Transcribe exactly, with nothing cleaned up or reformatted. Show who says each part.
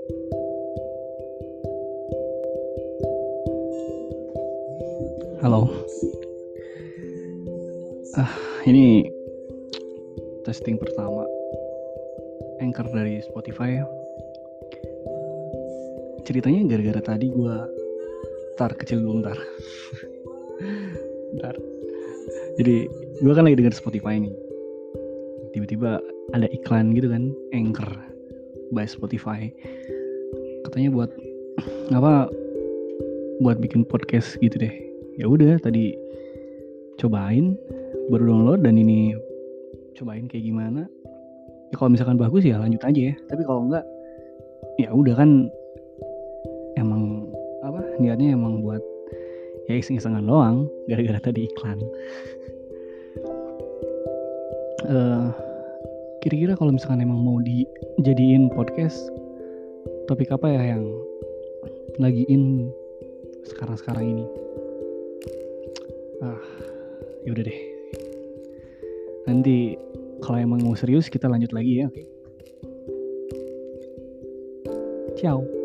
Speaker 1: Halo. Ah, ini testing pertama Anchor dari Spotify ya. Ceritanya gara-gara tadi gue tar kecil dulu ntar. Ntar. Jadi gue kan lagi denger Spotify nih. Tiba-tiba ada iklan gitu kan, Anchor by Spotify. Katanya buat apa? Buat bikin podcast gitu deh. Ya udah tadi cobain, baru download dan ini cobain kayak gimana. Ya kalau misalkan bagus ya lanjut aja ya. Tapi kalau enggak ya udah kan emang apa niatnya emang buat ya iseng-isengan doang gara-gara tadi iklan. Uh, kira-kira kalau misalkan emang mau dijadiin podcast, topik apa ya yang lagi in sekarang-sekarang ini? Ah, yaudah deh. Nanti kalau emang mau serius kita lanjut lagi ya, oke? Okay? Ciao.